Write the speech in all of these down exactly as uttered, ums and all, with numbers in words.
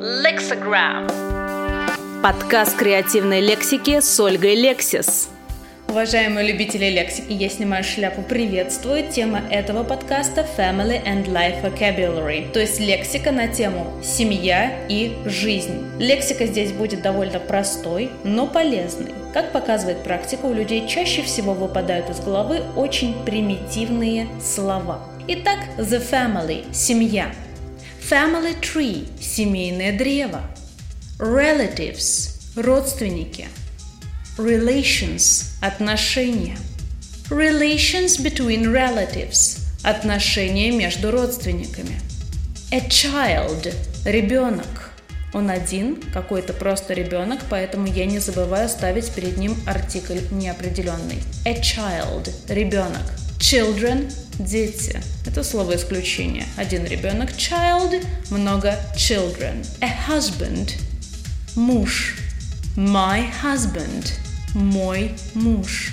Lexagram. Подкаст креативной лексики с Ольгой Лексис. Уважаемые любители лексики, я снимаю шляпу, приветствую. Тема этого подкаста Family and Life Vocabulary, то есть лексика на тему семья и жизнь. Лексика здесь будет довольно простой, но полезной. Как показывает практика, у людей чаще всего выпадают из головы очень примитивные слова. Итак, the family – семья. Family tree – семейное древо. Relatives – родственники. Relations – отношения. Relations between relatives – отношения между родственниками. A child – ребенок. Он один, какой-то просто ребенок, поэтому я не забываю ставить перед ним артикль неопределенный. A child – ребенок. Children – дети. Это слово исключение. Один ребенок – child, много children. A husband – муж. My husband – мой муж.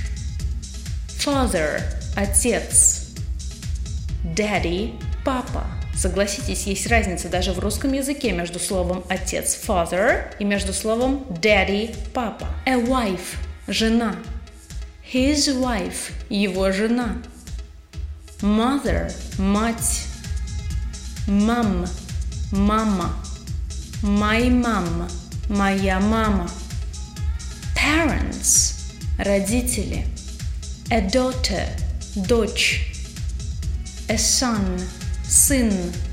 Father – отец. Daddy – папа. Согласитесь, есть разница даже в русском языке между словом «отец» – father и между словом «daddy» – папа. A wife – жена. His wife – его жена. Mother – мать. Mom – мама. My mom – моя мама. Parents – родители. A daughter – дочь. A son – сын.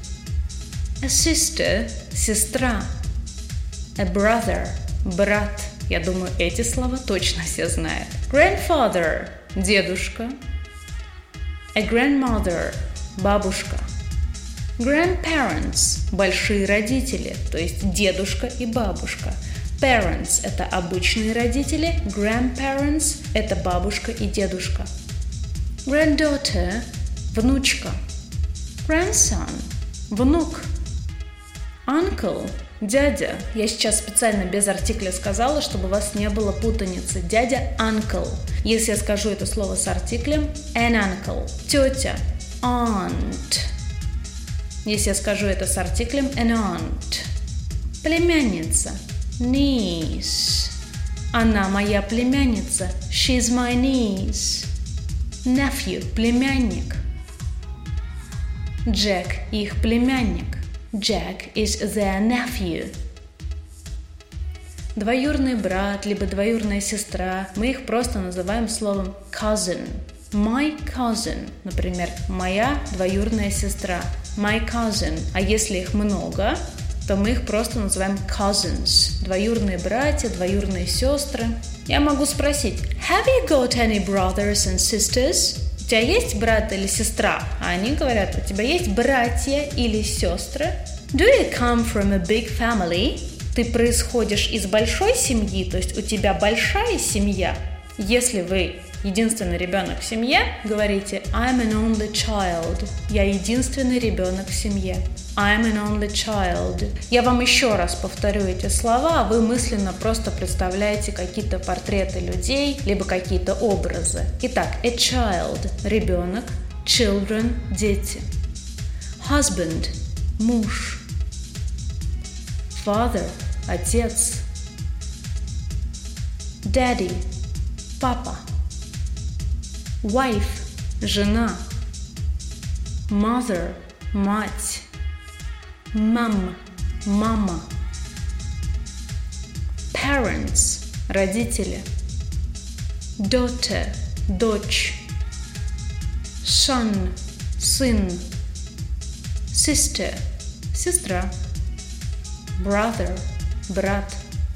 A sister – сестра. A brother – брат. Я думаю, эти слова точно все знают. Grandfather – дедушка. A grandmother – бабушка. Grandparents – большие родители, то есть дедушка и бабушка. Parents – это обычные родители, grandparents – это бабушка и дедушка. Granddaughter – внучка. Grandson – внук. Uncle – дядя. Я сейчас специально без артикля сказала, чтобы у вас не было путаницы. Дядя – uncle. Если я скажу это слово с артиклем – an uncle. Тетя – aunt. Если я скажу это с артиклем – an aunt. Племянница – niece. Она моя племянница. She's my niece. Nephew – племянник. Джек – их племянник. Jack is their nephew. Двоюродный брат, либо двоюродная сестра, мы их просто называем словом cousin. My cousin, например, моя двоюродная сестра. My cousin. А если их много, то мы их просто называем cousins. Двоюродные братья, двоюродные сестры. Я могу спросить: Have you got any brothers and sisters? У тебя есть брат или сестра? А они говорят: у тебя есть братья или сестры? Do you come from a big family? Ты происходишь из большой семьи, то есть у тебя большая семья. Если вы единственный ребенок в семье, говорите I'm an only child. Я единственный ребенок в семье. I'm an only child. Я вам еще раз повторю эти слова, а вы мысленно просто представляете какие-то портреты людей, либо какие-то образы. Итак, a child – ребенок, children – дети. Husband – муж. Father – отец. Daddy – папа. Wife – жена. Mother – мать. Mom – мама. Parents – родители. Daughter – дочь. Son – сын. Sister – сестра. Brother – брат.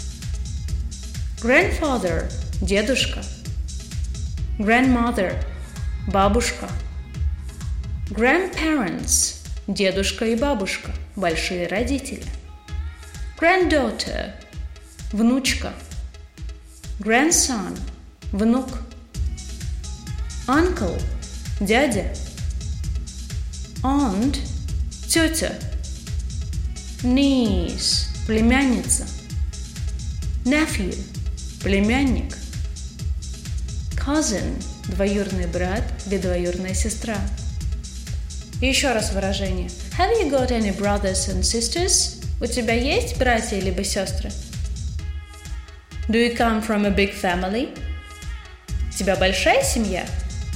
Grandfather – дедушка. Grandmother – бабушка. Grandparents – дедушка и бабушка, большие родители. Granddaughter – внучка. Grandson – внук. Uncle – дядя. Aunt – тетя. Niece – племянница. Nephew – племянник. Cousin – двоюродный брат или двоюродная сестра. И еще раз выражение. Have you got any brothers and sisters? У тебя есть братья либо сестры? Do you come from a big family? У тебя большая семья?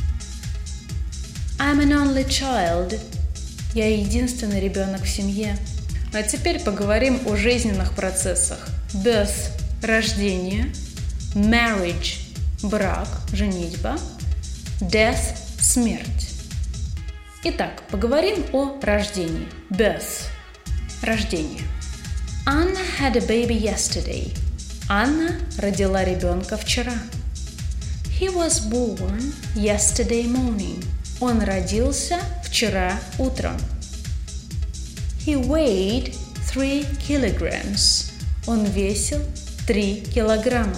I'm an only child. Я единственный ребенок в семье. А теперь поговорим о жизненных процессах. Birth – рождение, marriage – брак, женитьба, death – смерть. Итак, поговорим о рождении. Birth – рождение. Anna had a baby yesterday. Анна родила ребенка вчера. He was born yesterday morning. Он родился вчера утром. He weighed three kilograms. Он весил три килограмма.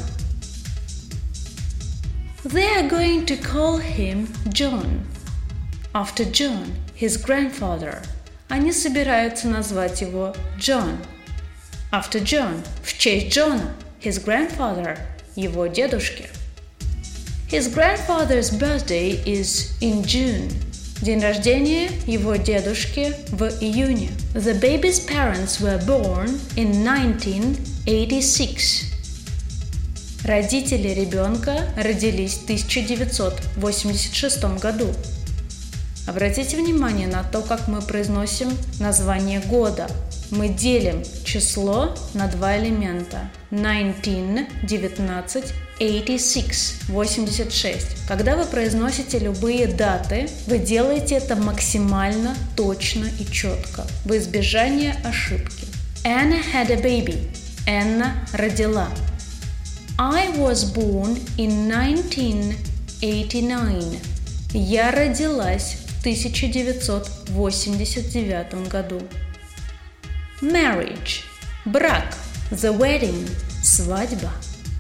They are going to call him John. After John, his grandfather. Они собираются назвать его John. After John, в честь Джона, his grandfather, его дедушки. His grandfather's birthday is in June. День рождения его дедушки в июне. The baby's parents were born in nineteen eighty-six. Родители ребенка родились в тысяча девятьсот восемьдесят шестом году. Обратите внимание на то, как мы произносим название года. Мы делим число на два элемента. nineteen, девятнадцать, eighty-six, восемьдесят шесть. Когда вы произносите любые даты, вы делаете это максимально точно и четко, во избежание ошибки. Anna had a baby. Энна родила. I was born in nineteen eighty-nine. Я родилась в тысяча девятьсот восемьдесят девятом году. Marriage – брак. The wedding – свадьба.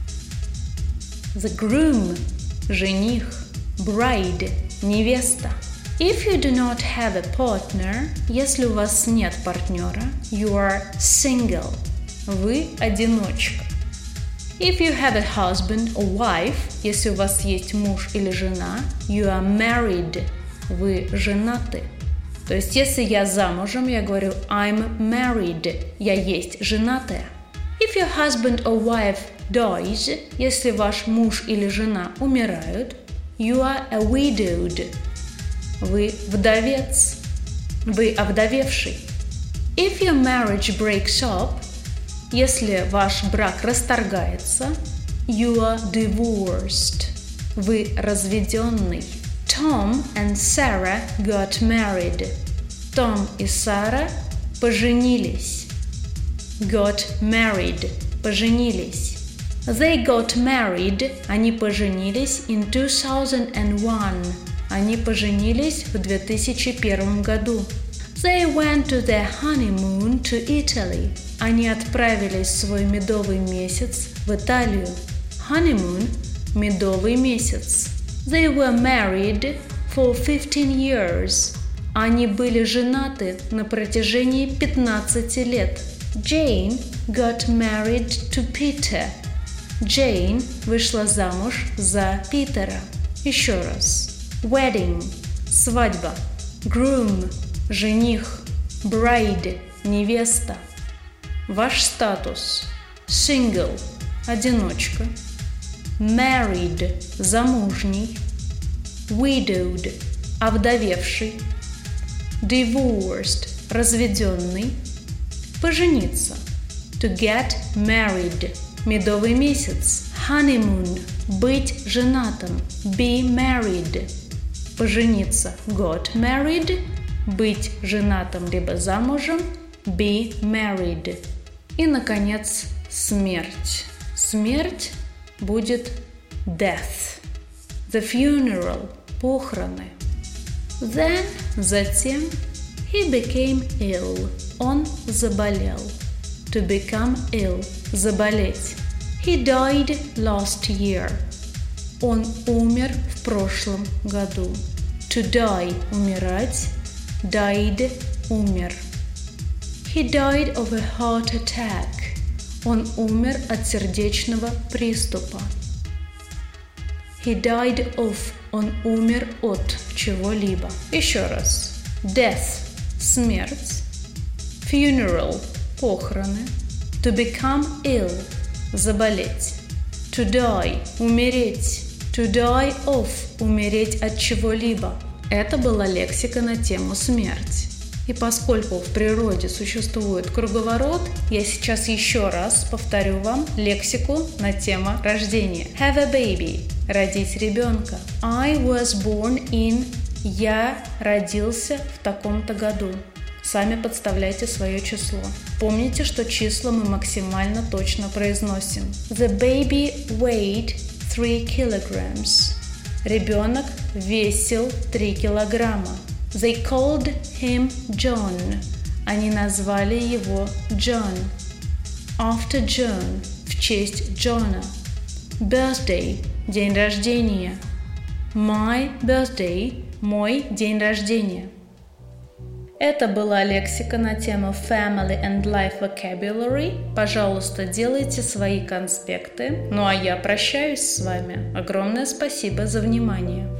The groom – жених. Bride – невеста. If you do not have a partner, если у вас нет партнера, you are single. Вы одиночка. If you have a husband or wife, если у вас есть муж или жена, you are married. Вы женаты. То есть, если я замужем, я говорю I'm married. Я есть женатая. If your husband or wife dies, если ваш муж или жена умирают, you are a widowed. Вы вдовец. Вы овдовевший. If your marriage breaks up, если ваш брак расторгается, you are divorced. Вы разведенный. Tom and Sarah got married. Том и Сара поженились. Got married. Поженились. They got married. Они поженились in two thousand one. Они поженились в две тысячи первом году. They went to their honeymoon to Italy. Они отправились в свой медовый месяц в Италию. Honeymoon – медовый месяц. They were married for fifteen years. Они были женаты на протяжении пятнадцати лет. Jane got married to Peter. Jane вышла замуж за Питера. Еще раз. Wedding – свадьба. Groom – жених. Bride – невеста. Ваш статус. Single – одиночка. Married – замужний. Widowed – овдовевший. Divorced – разведенный. Пожениться. To get married – медовый месяц. Honeymoon – быть женатым. Be married – пожениться. Got married – быть женатым либо замужем. Be married. И, наконец, смерть. Смерть будет death. The funeral – похороны. Then, затем, he became ill. Он заболел. To become ill – заболеть. He died last year. Он умер в прошлом году. To die – умирать. Died – умер. He died of a heart attack. Он умер от сердечного приступа. He died of. Он умер от чего-либо. Еще раз. Death – смерть. Funeral – похороны. To become ill – заболеть. To die – умереть. To die of – умереть от чего-либо. Это была лексика на тему смерть. И поскольку в природе существует круговорот, я сейчас еще раз повторю вам лексику на тему рождения. Have a baby – родить ребенка. I was born in – я родился в таком-то году. Сами подставляйте свое число. Помните, что числа мы максимально точно произносим. The baby weighed three kilograms. Ребенок весил три килограмма. They called him John. Они назвали его John. After John – в честь Джона. Birthday – день рождения. My birthday – мой день рождения. Это была лексика на тему Family and Life Vocabulary. Пожалуйста, делайте свои конспекты. Ну а я прощаюсь с вами. Огромное спасибо за внимание.